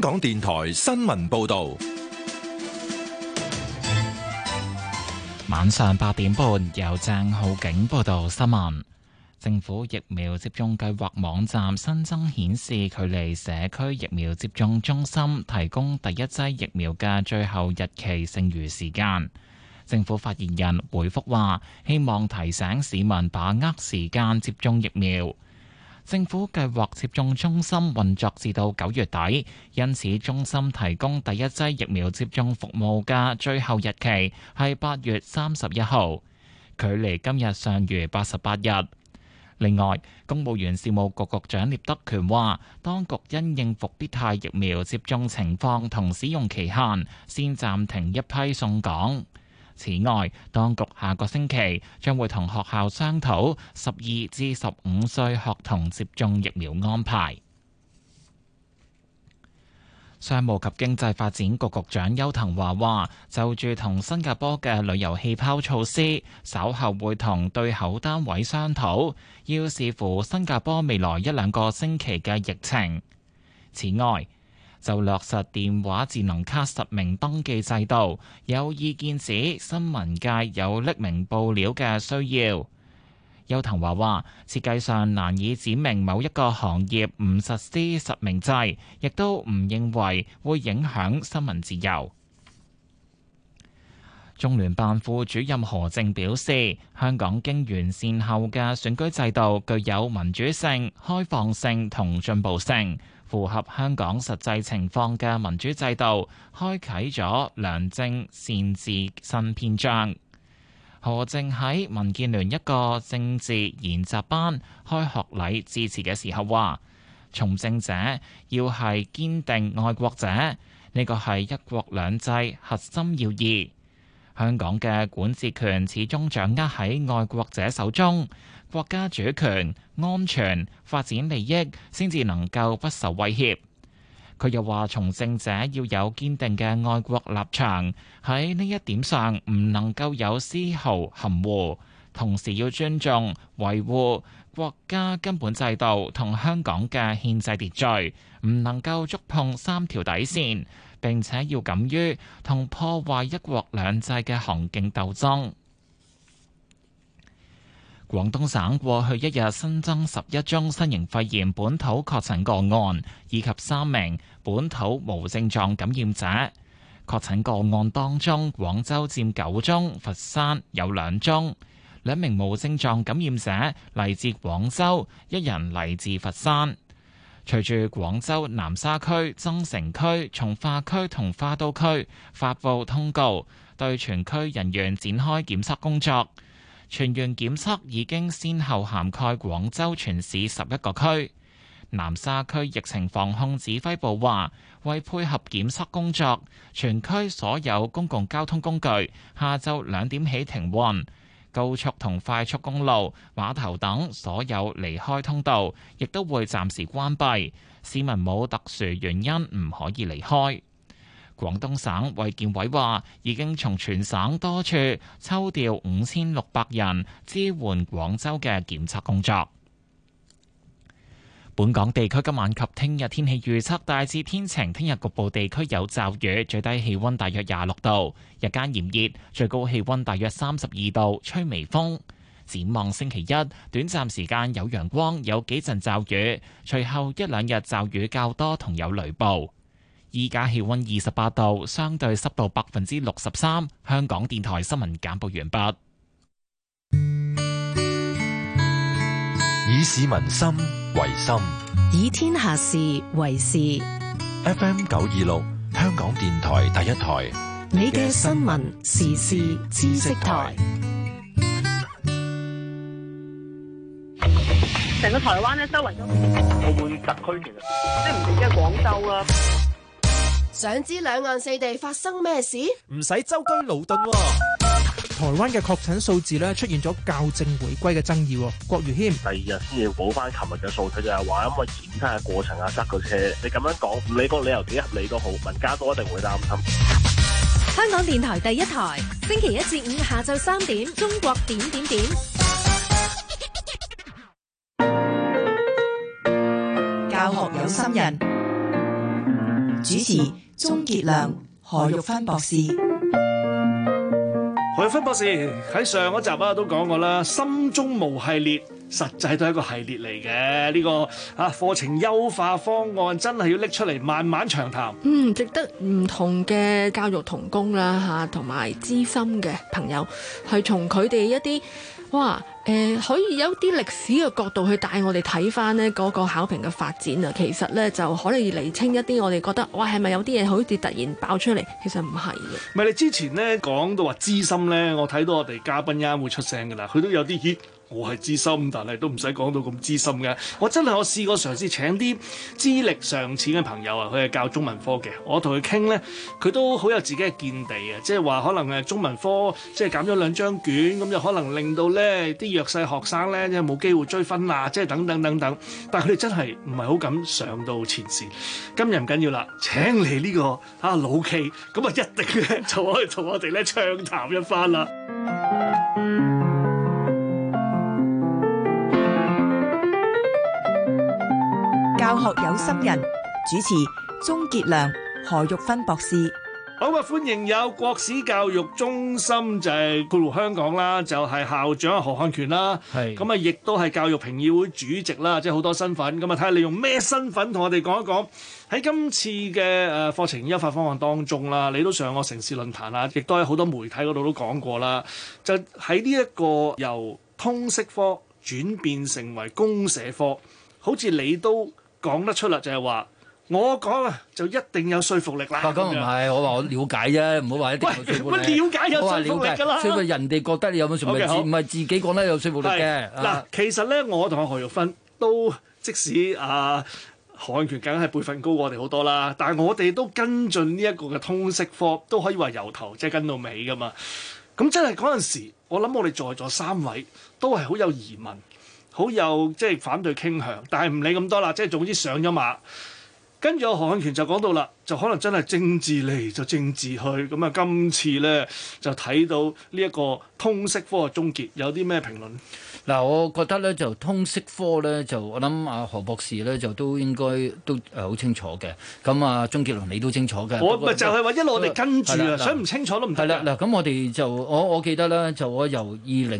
港電台新聞報道。 晚上8點半，由鄭浩景報道新聞。政府疫苗接種計劃網站新增顯示，距離社區疫苗接種中心提供第一劑疫苗嘅最後日期剩餘時間。政府發言人回覆話，希望提醒市民把握時間接種疫苗。政府計劃接種中心運作至到9月底，因此中心提供第一劑疫苗接種服務嘅最後日期係8月31號，距離今日尚餘88日。另外，公務員事務局局長聶德權話，當局因應復必泰疫苗接種情況同使用期限，先暫停一批送港。此外，當局下個星期將會同學校商討12至15歲學童接種疫苗安排。商務及經濟發展局局長邱騰華話，就住同新加坡嘅旅遊氣泡措施，稍後會同對口單位商討，要視乎新加坡未來1-2個星期嘅疫情。此外，就落實電話智能卡實名登記制度，有意見指新聞界有匿名報料嘅需要。邱騰華話，設計上難以指明某一個行業唔實施實名制，亦都唔認為會影響新聞自由。中聯辦副主任何靖表示，香港經完善後嘅選舉制度具有民主性、開放性同進步性，符合香港實際情況嘅民主制度，開啟咗良政善治新篇章。何靖喺民建聯一個政治研習班開學禮致辭嘅時候話，從政者要係堅定愛國者，呢個係一國兩制核心要義。香港嘅管治權始終掌握喺愛國者手中，國家主權、安全、發展利益先至能夠不受威脅。佢又話，從政者要有堅定嘅愛國立場，喺呢一點上唔能夠有絲毫含糊，同時要尊重、維護國家根本制度同香港嘅憲制秩序，唔能夠觸碰3條底線，並且要敢於同破壞一國兩制嘅行徑鬥爭。廣東省過去一日新增11宗新型肺炎本土確診個案，以及3名本土無症狀感染者。確診個案當中，廣州佔9宗，佛山有2宗。2名無症狀感染者嚟自廣州，1人嚟自佛山。隨住廣州南沙區、增城區、從化區同花都區發布通告，對全區人員展開檢測工作。全員檢測已經先後涵蓋廣州全市11個區。南沙區疫情防控指揮部話，為配合檢測工作，全區所有公共交通工具下晝2點起停運，高速同快速公路、碼頭等所有離開通道亦都會暫時關閉，市民冇特殊原因唔可以離開。廣東省衛健委話，已經從全省多處抽調5600人支援廣州嘅檢測工作。本港地區今晚及聽日天氣預測大致天晴，聽日局部地區有驟雨，最低氣溫大約26度，日間炎熱，最高氣溫大約32度，吹微風。展望星期一，短暫時間有陽光，有幾陣驟雨，隨後1-2日驟雨較多同有雷暴。依家氣溫28度，相對濕度63%。香港電台新聞簡報完畢。 以市民心為心， 以天下事為事。 FM 926，香港電台第一台， 你嘅新聞時事知識台。 成個台灣咧，周圍都澳門特區，其實即係唔止係廣州啦。 想知兩岸四地發生咩事？ 唔使舟車勞頓喎。台灣嘅確診數字咧出現咗校正回歸嘅爭議。郭如謙第2日先至補翻琴日嘅數據，就係話因為檢測嘅過程啊塞個車，你咁樣講，唔理個理由幾合理都好，民間都一定會擔心。 香港電台第一台，星期1至5下晝3點，中國點點點。 教學有心人， 主持鍾傑良、何玉芬博士。 何玉芬博士喺上一集都講過啦，心中無系列實際都係一個系列嚟嘅。呢個課程優化方案真係要拎出嚟慢慢長談。 值得唔同嘅教育同工啦嚇，同埋資深嘅朋友，係從佢哋一啲可以有啲歷史嘅角度去帶我哋睇翻呢嗰個考評嘅發展啊。其實呢，就可以釐清一啲我哋覺得係咪有啲嘢好似突然爆出嚟？其實唔係嘅。 唔係你之前呢講到話資深呢，我睇到我哋嘉賓啱會出聲㗎啦，佢都有啲我係資深，但係都唔使講到咁資深嘅。我試過嘗試請啲資歷尚淺嘅朋友啊，佢係教中文科嘅。我同佢傾呢，佢都好有自己嘅見地嘅，即係話可能中文科即係減咗2張卷，咁就可能令到呢啲弱勢學生呢，即係冇機會追分啦，即係等等等等。但係佢哋真係唔係好敢上到前線。今日唔緊要啦，請嚟呢個老 K，咁啊一定咧就可以同我哋咧暢談一番啦。 教學有心人，主持鍾傑良、何玉芬博士。 好啊！歡迎有國史教育中心就係括弧香港啦，就係校長何漢權啦。係咁啊，亦都係教育評議會主席啦，即係好多身份。咁啊，睇下你用咩身份同我哋講一講喺今次嘅課程優化方案當中啦。你都上過城市論壇啊，亦都喺好多媒體嗰度都講過啦。就喺呢一個由通識科轉變成為公社科，好似你都講得出啦，就係話我講就一定有說服力啦。 咁唔係，我話我了解啫，唔好話一定有說服力。 喂，了解有說服力㗎啦。 所以人哋覺得你有冇說服力，唔係自己講得有說服力嘅。 嗱，其實咧，我同阿何玉芬都即使何漢權梗係輩分高過我哋好多啦，但係我哋都跟進呢一個嘅通識科，都可以話由頭即係跟到尾㗎嘛。咁真係嗰陣時，我諗我哋在座3位都係好有疑問。好有即係反對傾向，但係唔理咁多啦，即係總之上咗馬。跟住何漢權就講到啦，就可能真係政治嚟就政治去。咁啊，今次咧就睇到呢一個通識科嘅終結，有啲咩評論？ 嗱，我覺得咧就通識科咧就我諗何博士咧就都應該都好清楚嘅。咁啊，鍾傑良你都清楚嘅。 我咪就係話一路我哋跟住啊，想唔清楚都唔得。 係啦，嗱，咁我哋就我記得咧，就我由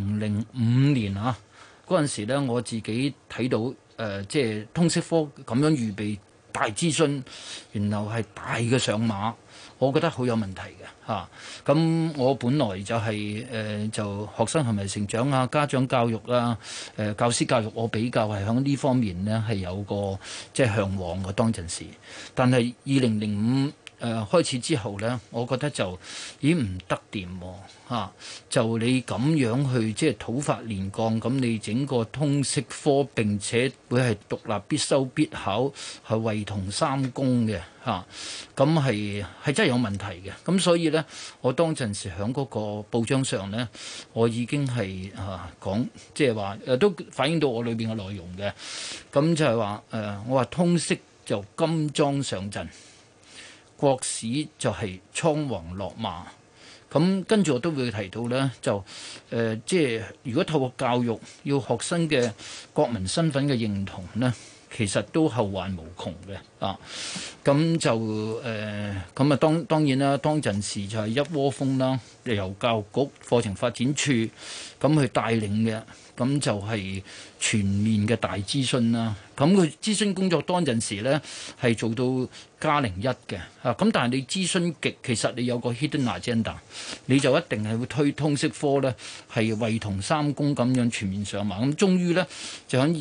2005年嗰陣時咧，我自己睇到即係通識科咁樣預備大諮詢，然後係大嘅上馬，我覺得好有問題嘅嚇。咁我本來就係就學生係咪成長啊、家長教育啊、教師教育，我比較係響呢方面呢係有個即係向往嘅當陣時。但係2005開始之後呢，我覺得就已經唔得掂喎。就你咁樣去即係土法煉鋼，咁你整個通識科並且會係獨立必修必考，係唯同3公嘅嚇，咁係真係有問題嘅。咁所以呢，我當陣時喺嗰個報章上呢，我已經係講，即係話都反映到我裏邊嘅內容嘅。咁就係話我話通識就金裝上陣，國史就係倉皇落馬。咁跟住我都會提到咧，就即係如果透過教育要學生嘅國民身份嘅認同咧，其實都後患無窮嘅啊！咁就咁啊，當然啦，當陣時就係一窩蜂啦，由教育局課程發展處咁去帶領嘅，咁就係全面嘅大諮詢啦。咁佢諮詢工作當陣時咧係做到+01嘅啊！咁但係你諮詢極，其實你有個 hidden agenda， 你就一定係會推通識科咧係唯同3公咁樣全面上馬。咁終於咧就喺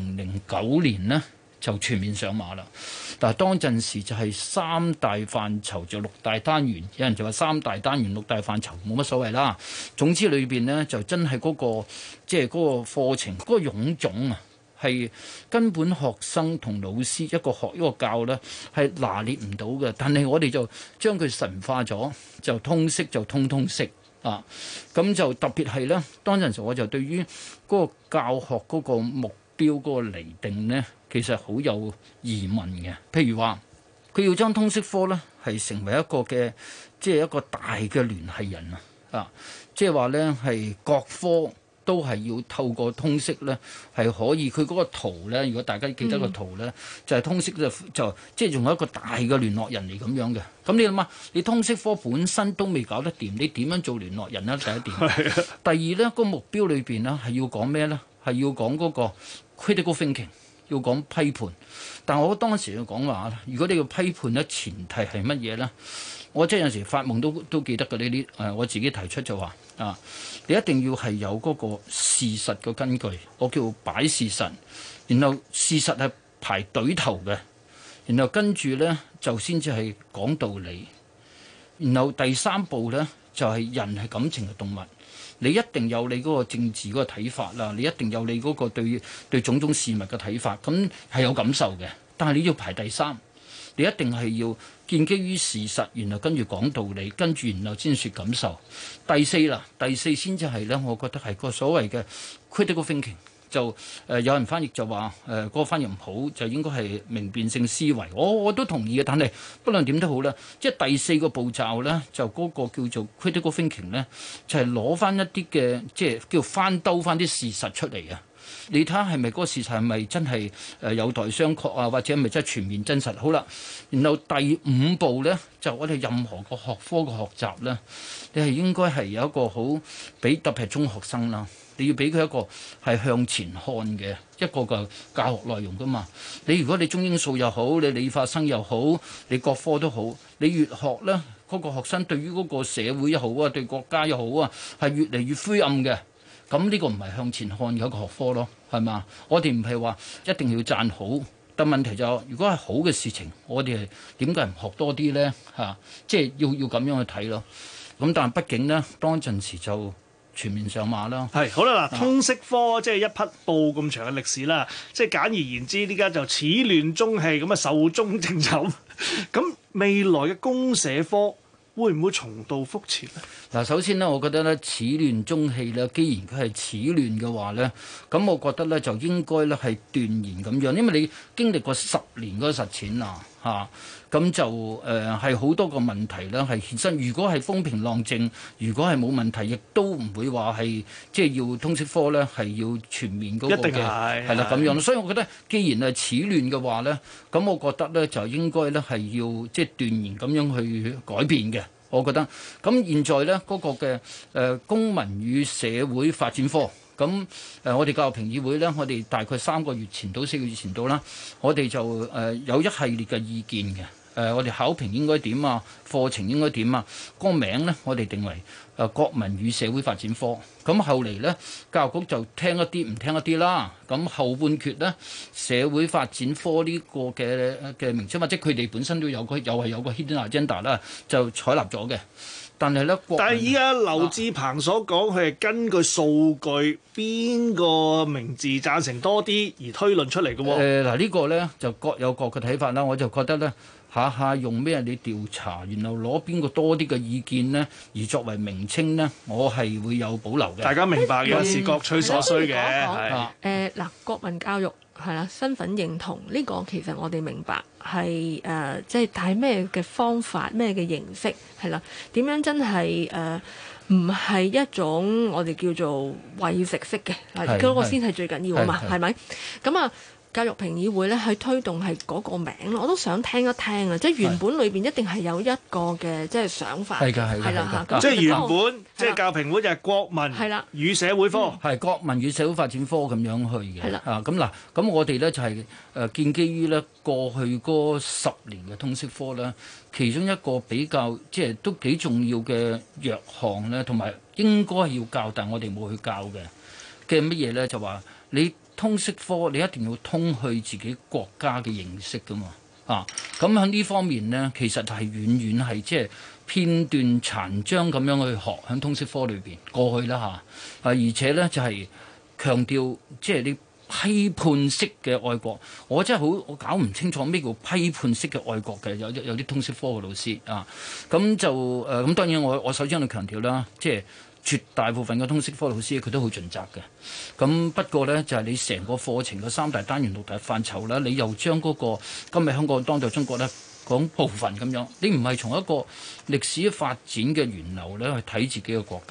2009年呢，就全面上馬啦。但係當陣時就係3大範疇就6大單元，有人就話3大單元6大範疇冇乜所謂啦。總之裏邊呢，就真係嗰個即係嗰個課程嗰個臃腫啊，係根本學生同老師一個學一個教呢係拿捏唔到嘅。但係我哋就將佢神化咗，就通識就通識啊。咁就特別係呢，當陣時我就對於嗰個教學嗰個目標嗰個釐定呢，其實好有疑問嘅。譬如話，佢要將通識科呢係成為一個嘅即係一個大嘅聯繫人啊，即係話呢係各科都係要透過通識咧，係可以佢嗰個圖咧。如果大家記得個圖咧，就係通識就即係仲有一個大嘅聯絡人嚟咁樣嘅。咁你諗下，你通識科本身都未搞得掂，你點樣做聯絡人咧？第一點。第二咧，個目標裏邊咧係要講咩咧？係要講嗰個 critical thinking， 要講批判。但我當時要講話，如果你要批判咧，前提係乜嘢咧？我即係有時發夢都記得嘅呢啲我自己提出就話你一定要係有嗰個事實嘅根據，我叫擺事實，然後事實係排隊頭嘅，然後跟住咧就先至係講道理，然後第三步咧就係人係感情嘅動物，你一定有你嗰個政治嗰個睇法啦，你一定有你嗰個對種種事物嘅睇法，咁係有感受嘅，但係你要排第三。你一定係要建基於事實，然後跟住講道理，跟住然後先説感受。第四先至係咧，我覺得係個所謂嘅 critical thinking。就有人翻譯就話嗰個翻譯唔好，就應該係明辨性思維。我都同意嘅，但係不論點都好啦，即係第四個步驟咧，就嗰個叫做 critical thinking 咧，就係攞翻一啲嘅即係叫翻兜翻啲事實出嚟啊！你睇下係咪嗰個事實係咪真係有待商榷啊？或者係咪真係全面真實？好啦，然後第五步咧，就我哋任何個學科嘅學習咧，你係應該係有一個好俾特別係中學生啦，你要俾佢一個係向前看嘅一個嘅教學內容噶嘛。你如果你中英數又好，你理化生又好，你各科都好，你越學咧，嗰個學生對於嗰個社會又好啊，對國家又好啊，係越嚟越灰暗嘅。咁呢個唔係向前看嘅一個學科咯，係嘛？我哋唔係話一定要讚好，但問題就係，如果係好嘅事情，我哋係點解唔學多啲咧？即係要咁樣去睇咯。咁但係畢竟咧，當陣時就全面上馬啦。 係好啦，嗱，通識科即係一匹布咁長嘅歷史啦。即係簡而言之，呢家就始亂終棄咁啊，壽終正寢。咁未來嘅公社科會唔會重蹈覆轍咧？ 嗱，首先呢，我覺得咧始亂終棄咧，既然佢係始亂嘅話咧，咁我覺得咧就應該咧係斷然咁樣，因為你經歷過10年嗰個實踐啊，咁就係好多個問題咧係衍生。如果係風平浪靜，如果係冇問題，亦都唔會話係即係要通識科咧係要全面嗰個嘅， 一定係啦咁樣。所以我覺得既然係始亂嘅話咧，咁我覺得咧就應該咧係要即係斷然咁樣去改變嘅。我覺得咁現在咧嗰個嘅公民與社會發展科，咁我哋教育評議會咧，我哋大概3個月前到4個月前到啦，我哋就有一系列嘅意見嘅。我哋考評應該點啊？課程應該點啊？個名咧，我哋定為國民與社會發展科。咁後嚟咧，教育局就聽一啲唔聽一啲啦。咁後半決咧，社會發展科呢個嘅名稱，或者佢哋本身都有個又係有個 hidden agenda 啦，就採納咗嘅。但係咧， 但係依家劉智鵬所講，佢係根據數據邊個名字贊成多啲而推論出嚟嘅喎。 嗱呢個咧就各有各嘅睇法啦。我就覺得咧。下用咩你調查，然後攞邊個多啲嘅意見呢？而作為名稱呢，我係會有保留嘅。 大家明白嘅，是各取所需嘅。 嗱，國民教育係啦，身份認同呢個其實我哋明白係即係睇咩嘅方法、咩嘅形式係啦，點樣真係唔係一種我哋叫做餵食式嘅，嗰個先係最緊要啊嘛，係咪？咁啊。教育評議會咧去推動係嗰個名，我都想聽一聽啊！即係原本裏邊一定係有一個嘅即係想法，係啦嚇。 即係原本即係教育評會就係國民與社會科， 係國民與社會發展科咁樣去嘅。係啦咁嗱，咁我哋咧就係建基於咧過去嗰10年嘅通識科咧，其中一個比較即係都幾重要嘅弱項咧，同埋應該要教，但係我哋冇去教嘅乜嘢咧，就話你。通識科你一定要通去自己國家嘅認識噶嘛咁喺呢方面呢，其實係遠遠係即係片段殘章咁樣去學喺通識科裏邊過去啦而且呢，就係強調即係你批判式嘅愛國，我真係我搞唔清楚咩叫批判式嘅愛國嘅，有啲通識科嘅老師咁就咁當然我首先要強調啦，即係。絕大部分嘅通識科老師佢都好盡責嘅，咁不過呢，就係你成個課程嘅3大單元6大範疇啦，你又將嗰個今日香港當代中國呢講部分咁樣，你唔係從一個歷史發展嘅源流呢去睇自己嘅國家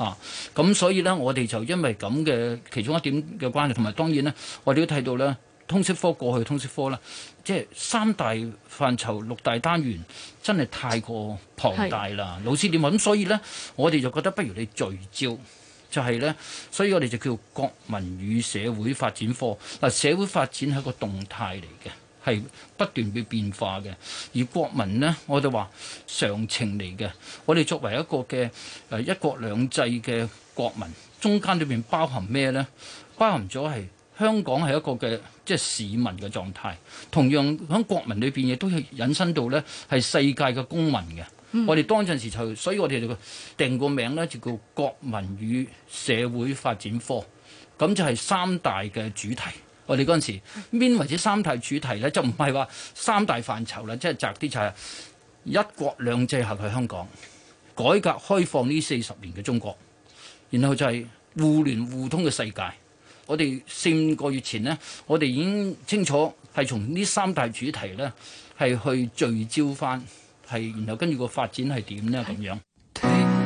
咁所以呢，我哋就因為咁嘅其中一點嘅關係，同埋當然呢，我哋都睇到呢，通識科過去通識科啦，即係3大範疇6大單元真係太過龐大啦。老師點話？咁所以呢，我哋就覺得不如你聚焦。就係呢，所以我哋就叫國民與社會發展科。嗱，社會發展係一個動態嚟嘅，係不斷會變化嘅。而國民呢，我哋話常情嚟嘅。我哋作為一個嘅一國兩制嘅國民，中間裏邊包含咩呢？包含咗係香港係一個嘅即係市民嘅狀態，同樣喺國民裏邊亦都係引申到呢係世界嘅公民嘅。我哋當陣時就，所以我哋就定個名咧，就叫國民與社會發展科。咁就係3大嘅主題。我哋嗰陣時邊為止3大主題咧，就唔係話3大範疇啦，即係窄啲就係一國兩制下嘅香港，改革開放呢40年嘅中國，然後就係互聯互通嘅世界。我哋4-5個月前呢，我哋已經清楚係從呢3大主題咧係去聚焦翻。係，然後跟住個發展係點呢？咁樣。 聽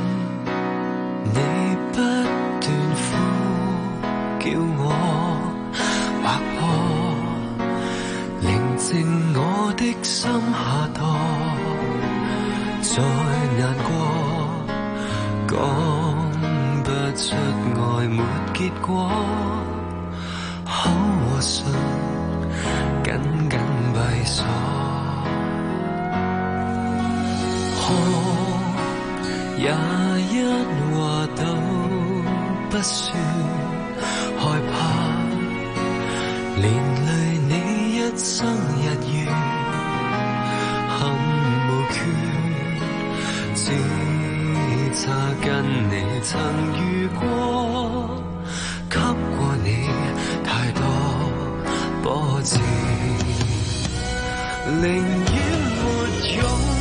你不斷呼叫我，或可寧靜我的心下墮，再難過，講不出愛沒結果，口和唇緊緊閉鎖。也一話都不算害怕，連累你一生日月，很無缺，只差跟你曾遇過，給過你太多波折，寧願沒擁。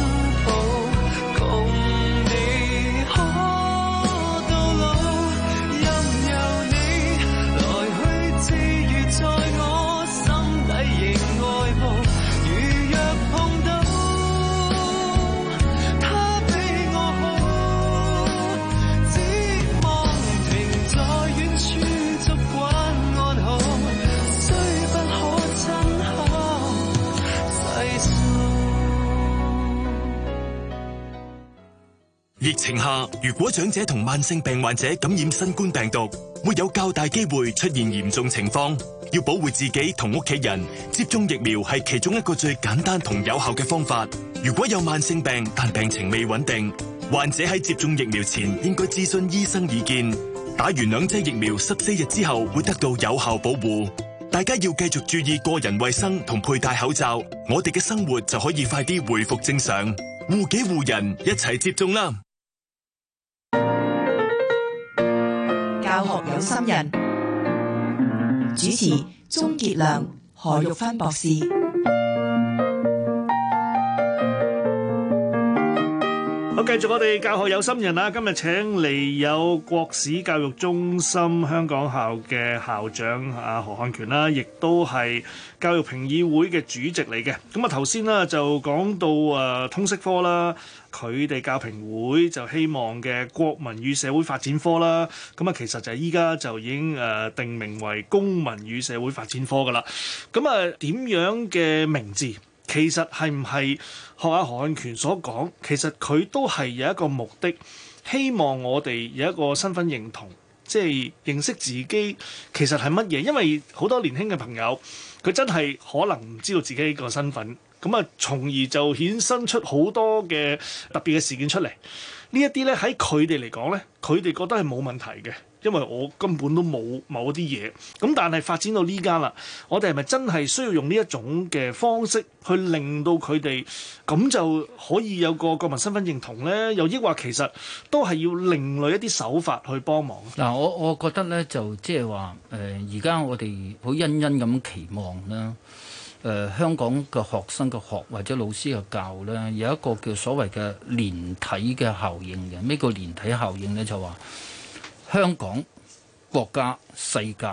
疫情下，如果長者同慢性病患者感染新冠病毒，會有較大機會出現嚴重情況。要保護自己同屋企人，接種疫苗係其中一個最簡單同有效嘅方法。如果有慢性病但病情未穩定，患者喺接種疫苗前應該諮詢醫生意見。打完2劑疫苗14日之後會得到有效保護。大家要繼續注意個人衛生同佩戴口罩，我哋嘅生活就可以快啲回復正常。護己護人，一齊接種啦！ 教學有心人，主持鍾傑良、何玉芬博士。 好，繼續我哋教學有心人啦。今日請嚟有國史教育中心香港校嘅校長何漢權啦，亦都係教育評議會嘅主席嚟嘅。咁啊，頭先啦就講到通識科啦，佢哋教評會就希望嘅國民與社會發展科啦。咁啊，其實就係依家就已經定名為公民與社會發展科噶啦。咁啊，點樣嘅名字？其實係唔係學阿何漢權所講？其實佢都係有一個目的，希望我哋有一個身份認同，即係認識自己其實係乜嘢。因為好多年輕嘅朋友，佢真係可能唔知道自己個身份，咁啊，從而就衍生出好多嘅特別嘅事件出嚟。呢一啲咧喺佢哋嚟講咧，佢哋覺得係冇問題嘅。因為我根本都冇某啲嘢，咁但係發展到呢家啦，我哋係咪真係需要用呢一種嘅方式去令到佢哋咁就可以有個國民身份認同呢？又抑或其實都係要另類一啲手法去幫忙？ 嗱，我覺得呢，就即係話而家我哋好殷殷咁期望啦。香港嘅學生嘅學或者老師嘅教呢，有一個叫所謂嘅連體嘅效應嘅。咩叫連體效應呢？就話香港、國家、世界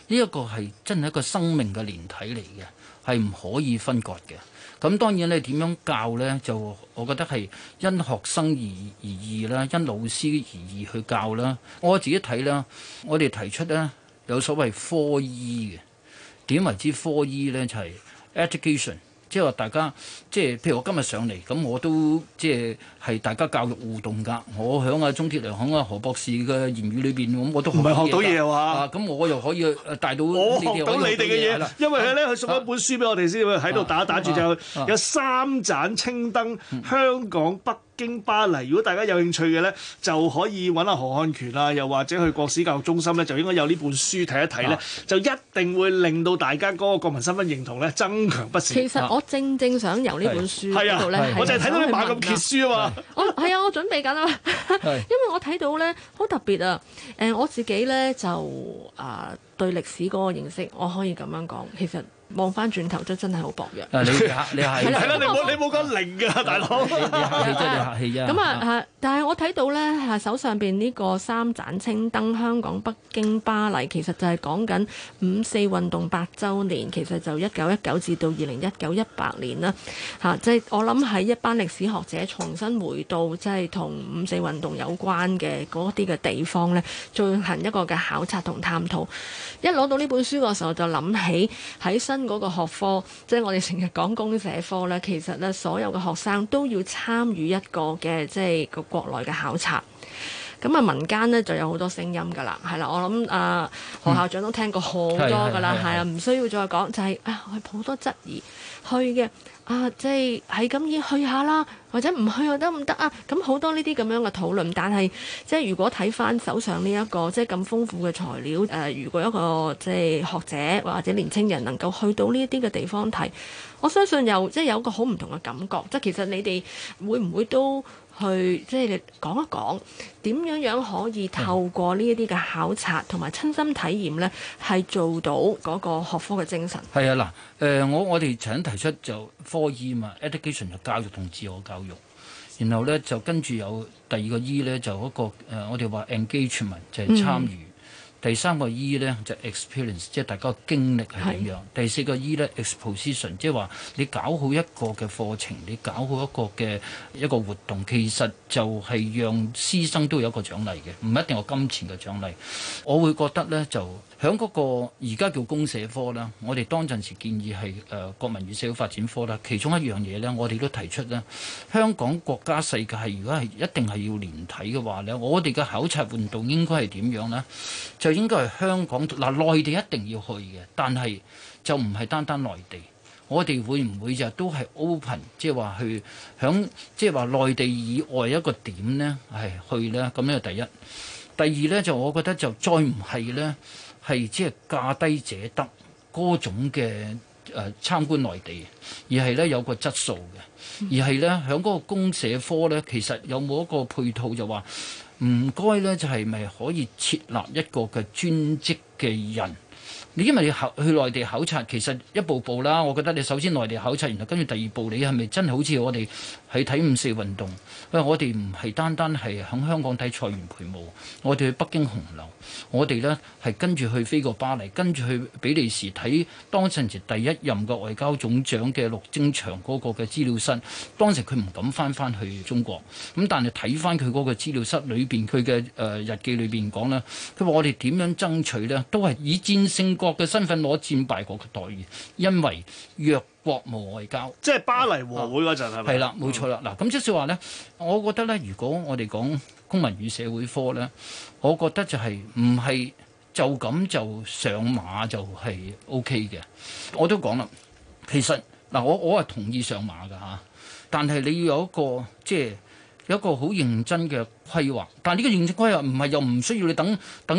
呢一個係真係一個生命嘅連體嚟嘅，係唔可以分割嘅。咁當然你點樣教呢？就我覺得係因學生而異啦，因老師而異去教啦。我自己睇啦，我哋提出呢有所謂科醫嘅，點為之科醫呢？就係 education。即係話大家，即係譬如我今日上嚟，咁我都即係大家教育互動㗎。我響阿鍾鐵良、響阿何博士嘅言語裏邊，咁我都唔係學到嘢啊！咁我又可以帶到我學到你哋嘅嘢，因為咧佢送一本書俾我哋先，喺度打住就有3盞青燈，香港、北京、巴黎。如果大家有興趣嘅咧，就可以揾阿何漢權啊，又或者去國史教育中心咧，就應該有呢本書睇一睇咧，就一定會令到大家嗰個國民身份認同咧增強不少。 其實我正想由呢本書嗰度咧， 我就係睇到你猛咁揭書啊嘛。 我準備緊啊，因為我睇到咧好特別啊。我自己咧就對歷史嗰個認識，我可以咁樣講，其實望翻轉頭真係好薄弱。 你係係啦，你冇講零㗎，大佬。 你客氣啫。 咁但係我睇到咧手上邊呢個3盞青燈，香港、北京、巴黎，其實就係講緊5·4運動8週年，其實就1919至到2019-18年啦。即係我諗係一班歷史學者重新回到即係同5·4運動有關嘅嗰啲嘅地方咧，進行一個嘅考察同探討。一攞到呢本書嘅時候，就諗起喺新嗰個學科，即係我哋成日講公社科咧，其實咧所有嘅學生都要參與一個嘅即係個國內嘅考察。咁民間咧就有好多聲音㗎啦，係啦，我諗何校長都聽過好多㗎啦，係啊，唔需要再講，就係好多質疑去嘅。即係咁要去下啦，或者唔去又得唔得啊？咁好多呢啲咁樣嘅討論，但係即係如果睇翻手上呢一個即係咁豐富嘅材料，如果一個即係學者或者年青人能夠去到呢一啲嘅地方睇，我相信即係有一個好唔同嘅感覺。即係其實你哋會唔會都去即係講一講點樣可以透過呢一啲嘅考察同埋親身體驗呢，係做到嗰個學科嘅精神？係啊，嗱，我哋曾經提出就科醫嘛 ，education 就教育同自我教育，然後呢，就跟住有第2個 E 呢，就嗰個我哋話 engagement 就係參與。第3個 E 呢，就 experience， 即係大家經歷係點樣。第4個 E 呢 exposition， 即係話你搞好一個嘅課程，你搞好一個活動，其實就係讓師生都有一個獎勵嘅，唔一定有金錢嘅獎勵。我會覺得呢，就響嗰個而家叫公社科啦，我哋當陣時建議係國民與社會發展科啦。其中一樣嘢呢，我哋都提出呢，香港國家世界係如果係一定係要連體嘅話呢，我哋嘅考察活動應該係點樣呢？就應該係香港內地一定要去嘅，但係就唔係單單內地。我哋會唔會就都係 open， 即係話去響即係話內地以外一個點呢？係去呢？咁呢個第一。第二呢，就我覺得就再唔係呢，係即係價低者得嗰種嘅參觀內地，而係呢有個質素嘅，而係呢響嗰個公社科呢，其實有冇一個配套就話唔該呢，就係咪可以設立一個嘅專職嘅人？因為你去內地考察，其實一步步啦。我覺得你首先內地考察，然後跟住第2步，你係咪真係好似我哋喺睇5·4運動？因為我哋唔係單單係喺香港睇蔡元培舞，我哋去北京紅樓，我哋呢係跟住去飛過巴黎，跟住去比利時睇當陣時第1任嘅外交總長嘅陸征祥嗰個嘅資料室。當時佢唔敢翻去中國，咁但係睇翻佢嗰個資料室裏邊，佢嘅日記裏邊講呢，佢話我哋點樣爭取呢？都係以戰勝國嘅身份攞戰敗國嘅待遇，因為弱國無外交， 即係巴黎和會嗰陣係咪？ 係啦，冇錯啦。嗱，咁即係話呢，我覺得呢，如果我哋講公民與社會科呢，我覺得就係唔係就咁就上馬就係 OK 嘅。我都講啦，其實嗱，我係同意上馬㗎嚇，但係你要有一個即係有一個好認真嘅規劃，但係呢個認真規劃唔係又唔需要你等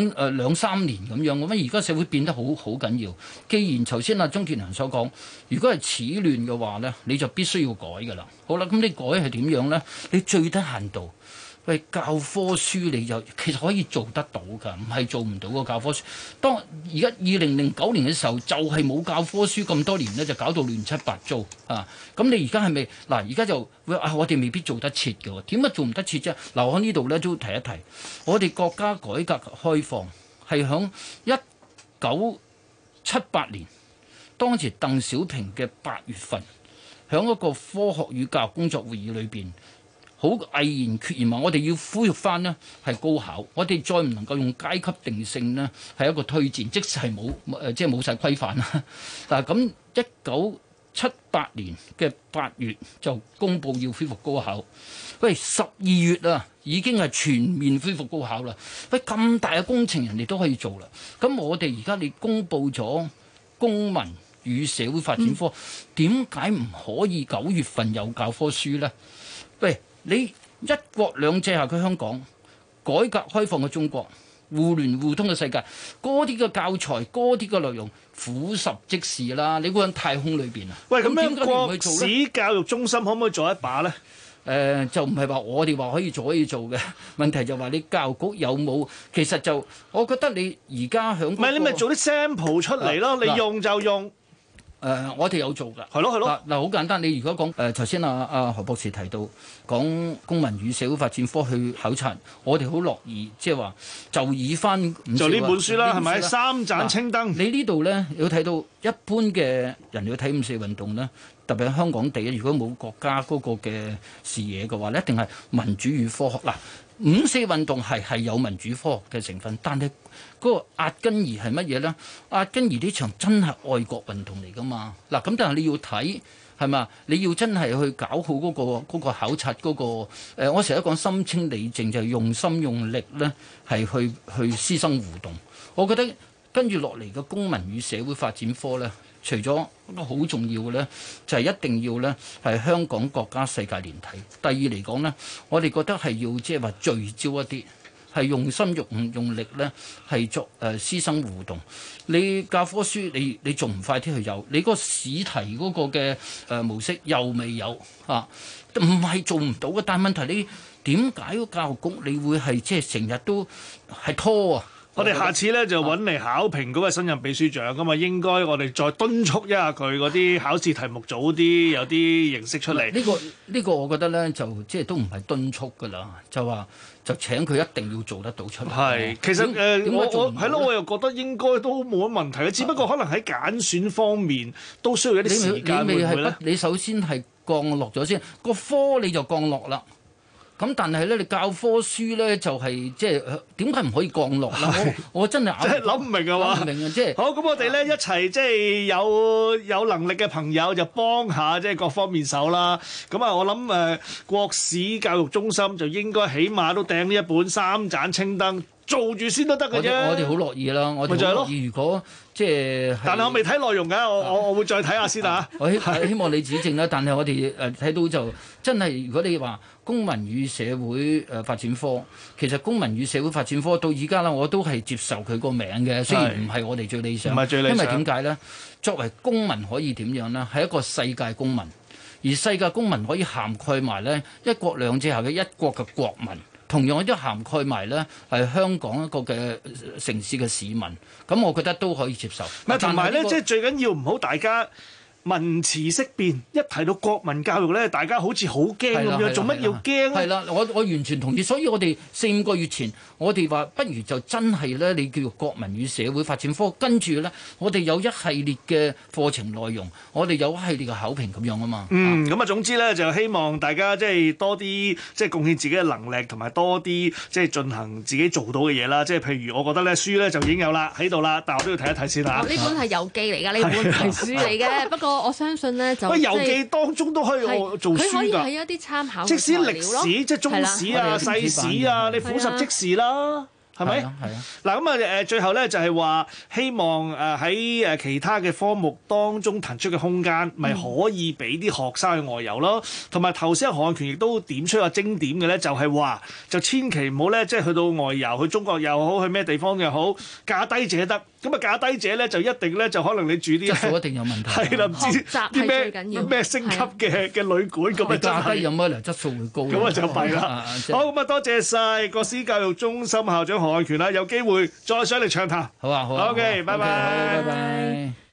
2-3年咁樣。咁而家社會變得好緊要。既然頭先阿鍾傑良所講，如果係始亂嘅話呢，你就必須要改㗎啦。好啦，咁你改係點樣呢？你最低限度，喂，教科書你就其實可以做得到㗎，唔係做唔到個教科書。當而家2009年嘅時候，就係冇教科書咁多年呢，就搞到亂七八糟啊！咁你而家係咪嗱？而家就我哋未必做得切嘅喎。點解做唔得切啫？嗱，我喺呢度呢都提一提，我哋國家改革開放係響19 78年，當時鄧小平嘅8月份，喺一個科學與教育工作會議裏邊，好毅然決然話我哋要恢復翻呢係高考，我哋再唔能夠用階級定性呢係一個推薦，即使係即係冇晒規範啦。嗱咁1978年嘅8月就公布要恢復高考，喂12月啊已經係全面恢復高考啦。喂咁大嘅工程人哋都可以做啦，咁我哋而家你公布咗公民與社會發展科，點解唔可以9月份有教科書呢？喂，你一國兩制下嘅香港，改革開放嘅中國，互聯互通嘅世界，嗰啲嘅教材，嗰啲嘅內容，俯拾即是啦。你估喺太空裏邊啊？ 喂，咁樣國史教育中心可唔可以做一把呢？ 就唔係話我哋話可以做嘅，問題就話你教育局有冇？其實就我覺得你而家響唔係你咪做啲 sample 出嚟咯，你用就用。我哋有做㗎， 係咯。 嗱，好簡單。你如果講頭先阿何博士提到講公民與社會發展科去考察，我哋好樂意，即係話就以翻就呢本書啦，係咪3盞青燈？ 你呢度咧有睇到一般嘅人要睇5·4運動咧，特別係香港地，如果冇國家嗰個嘅視野嘅話咧，一定係民主與科學嗱。5·4運動係有民主科學嘅成分，但係嗰個壓根兒係乜嘢咧？壓根兒呢場真係愛國運動嚟㗎嘛？嗱，咁但係你要睇係嘛？你要真係去搞好嗰個考察嗰個我成日都講心清理淨，就係用心用力咧，係去師生互動。我覺得跟住落嚟嘅公民與社會發展科咧，除咗一個好重要嘅咧，就係一定要咧係香港國家世界連體。第二嚟講咧，我哋覺得係要即係話聚焦一啲，係用心用力咧，係作師生互動。你教科書你仲唔快啲去有？你嗰個試題嗰個嘅模式又未有啊？唔係做唔到嘅，但係問題你點解個教育局你會係即係成日都係拖啊？ 我哋下次咧就揾嚟考評嗰個新任秘書長咁啊，應該我哋再敦促一下佢嗰啲考試題目早啲有啲形式出嚟。 呢個我覺得咧就即係都唔係敦促㗎啦，就請佢一定要做得到出嚟。 係，其實我係咯，我又覺得應該都冇乜問題嘅，只不過可能喺揀選方面都需要一啲時間，會唔會咧？ 你首先係降落咗先，個科你就降落啦。咁但係咧，你教科書咧就係即係點解唔可以降落咧？我真係諗唔明啊嘛！ 諗唔明啊！即係好咁，我哋咧一齊即係有能力嘅朋友就幫下即係各方面手啦。咁啊，我諗國史教育中心就應該起碼都掟呢一本3盞青燈做住先都得嘅啫。 我哋好樂意啦，我哋好樂意。如果即係， 但係我未睇內容㗎，我會再睇下先啊。 我希望你指正啦。但係我哋睇到就真係，如果你話公民與社會發展科，其實公民與社會發展科到而家啦，我都係接受佢個名嘅，雖然唔係我哋最理想， 唔係最理想。 因為點解咧？作為公民可以點樣呢？係一個世界公民，而世界公民可以涵蓋埋呢一國兩制下嘅一國嘅國民。同樣都涵蓋埋咧，係香港一個嘅城市嘅市民，咁我覺得都可以接受。 同埋咧，即係最緊要唔好大家文詞色變，一提到國民教育咧，大家好似好驚咁樣，做乜要驚咧？ 係啦，我完全同意。所以我哋4-5個月前，我哋話不如就真係咧，你叫做國民與社會發展科，跟住咧，我哋有一系列嘅課程內容，我哋有一系列嘅考評咁樣啊嘛。 咁啊，總之咧就希望大家即係多啲即係貢獻自己嘅能力，同埋多啲即係進行自己做到嘅嘢啦。即係譬如我覺得咧，書咧就已經有啦喺度啦，但我都要睇一睇先嚇。 呢本係遊記嚟㗎，呢本係書嚟嘅。不過我相信咧就遊記當中都可以做書㗎。 佢可以係一啲參考， 即使歷史即係中史啊、世史啊，你俯拾即是啦。係咪？係啊。嗱咁啊最後咧就係話希望喺其他嘅科目當中騰出嘅空間，咪可以俾啲學生去外遊咯。同埋頭先何漢權亦都點出個精點嘅咧，就係話就千祈唔好咧，即係去到外遊，去中國又好，去咩地方又好，價低者得。咁啊價低者咧就一定咧就可能你住啲質素一定有問題。 係啦，唔知啲咩星級嘅旅館咁啊， 價低有乜嚟質素會高？ 咁啊就弊啦。好咁啊，多謝晒國史教育中心校長何漢權啦，有機會再上嚟暢談。 好啊，好啊。 OK，拜拜。 拜拜。